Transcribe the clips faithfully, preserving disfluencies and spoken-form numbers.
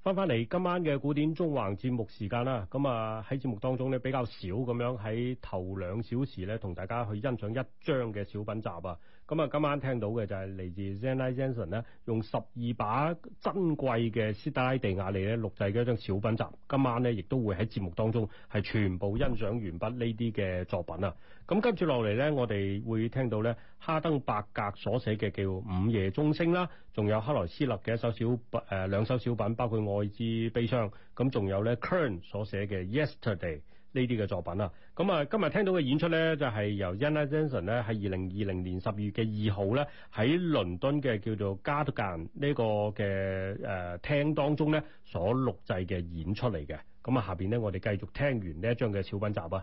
翻返嚟今晚嘅古典縱橫節目時間啦，咁啊喺節目當中咧比較少咁樣喺頭兩小時咧同大家去欣賞一張嘅小品集啊，咁啊今晚聽到嘅就係嚟自 Zena Jansen 咧用十二把珍貴嘅斯特拉地亞利咧錄製嘅一張小品集，今晚咧亦都會喺節目當中係全部欣賞完畢呢啲嘅作品啊。咁跟住落嚟咧，我哋會聽到咧哈登伯格所寫嘅叫《午夜鐘聲》啦，仲有克萊斯勒嘅一首小誒、呃、兩首小品，包括《愛之悲傷》，咁仲有咧 Kern 所寫嘅《Yesterday》呢啲嘅作品啊。咁啊，今日聽到嘅演出咧就係、是、由 Zena Jansen 咧喺二零二零年十月嘅二號咧喺倫敦嘅叫做 Cadogan 呢個嘅誒廳當中咧所錄製嘅演出嚟嘅。咁啊，下邊咧我哋繼續聽完呢一張嘅小品集啊。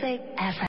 色 F M。